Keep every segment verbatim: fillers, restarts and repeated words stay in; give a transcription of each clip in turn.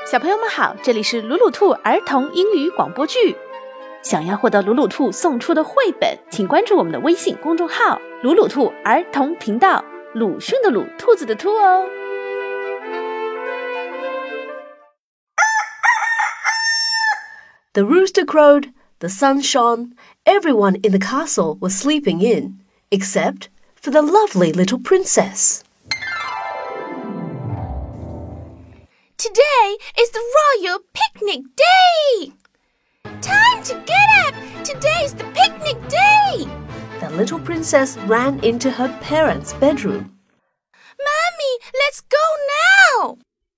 小朋友们好，这里是鲁鲁兔儿童英语广播剧。想要获得鲁鲁兔送出的绘本，请关注我们的微信公众号鲁鲁兔儿童频道，鲁迅的鲁，兔子的兔哦。 The rooster crowed, the sun shone, everyone in the castle was sleeping in, except for the lovely little princess. Today is the royal picnic day! Time to get up! Today's the picnic day! The little princess ran into her parents' bedroom. Mommy, let's go now!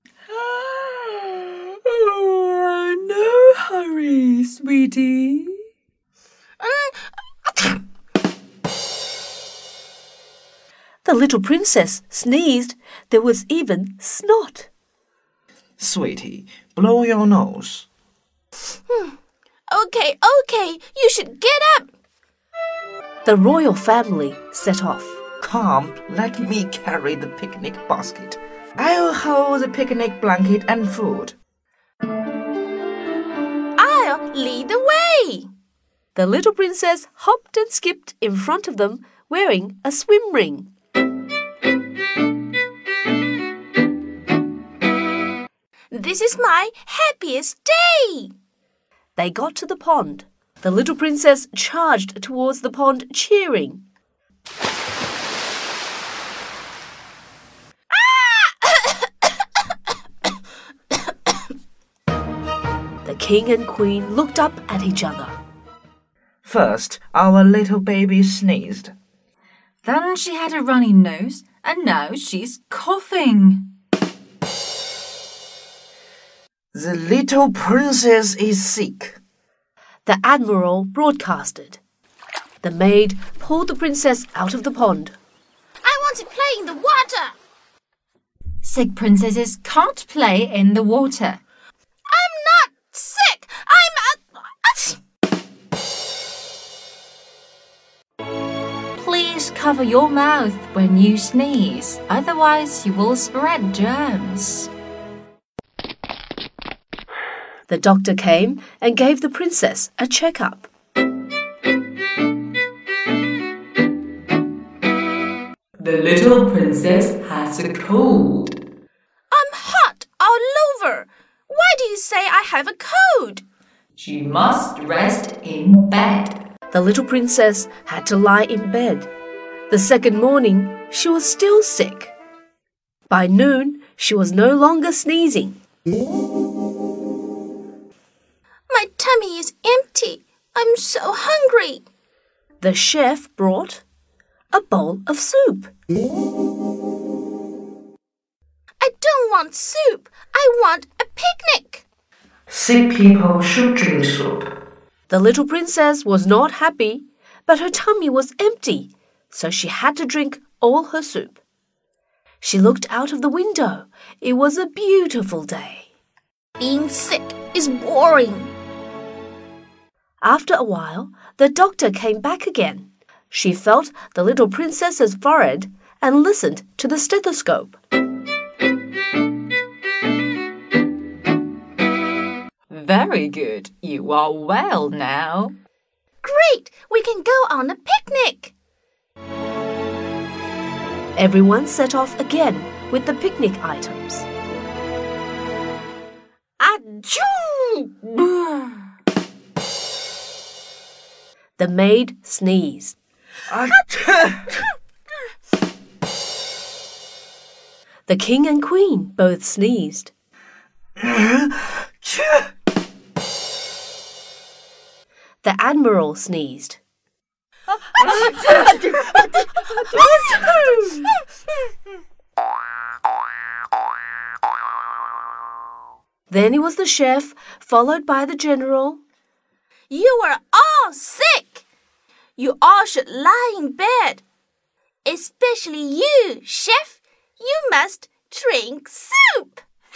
Oh, no hurry, sweetie. Um, The little princess sneezed. There was even snot. Sweetie, blow your nose. okay, okay, you should get up. The royal family set off. Come, let me carry the picnic basket. I'll hold the picnic blanket and food. I'll lead the way. The little princess hopped and skipped in front of them, wearing a swim ring. This is my happiest day. They got to the pond. The little princess charged towards the pond, cheering. The king and queen looked up at each other. First, our little baby sneezed. Then she had a runny nose, and now she's coughing. The little princess is sick. The admiral broadcasted. The maid pulled the princess out of the pond. I want to play in the water. Sick princesses can't play in the water. I'm not sick. I'm a... Please cover your mouth when you sneeze, otherwise you will spread germs. The doctor came and gave the princess a checkup. The little princess has a cold. I'm hot all over. Why do you say I have a cold? She must rest in bed. The little princess had to lie in bed. The second morning, she was still sick. By noon, she was no longer sneezing. My tummy is empty. I'm so hungry. The chef brought a bowl of soup. I don't want soup. I want a picnic. Sick people should drink soup. The little princess was not happy, but her tummy was empty, so she had to drink all her soup. She looked out of the window. It was a beautiful day. Being sick is boring. After a while, the doctor came back again. She felt the little princess's forehead and listened to the stethoscope. Very good. You are well now. Great! We can go on a picnic. Everyone set off again with the picnic items. Achoo! The maid sneezed. The king and queen both sneezed. The admiral sneezed. Then it was the chef, followed by the general. You are all sick. You all should lie in bed. Especially you, chef. You must drink soup.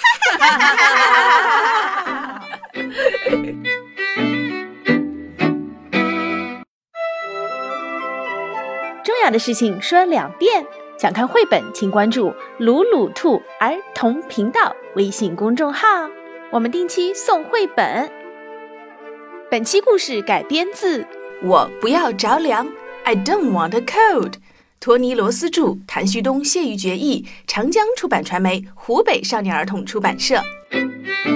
重要的事情说两遍。想看绘本，请关注“鲁鲁兔儿童频道”微信公众号。 我们定期送绘本。本期故事改编自我不要着凉 I don't want a cold， 托尼·罗斯著，谭旭东、谢玉珏译，长江出版传媒，湖北少年儿童出版社。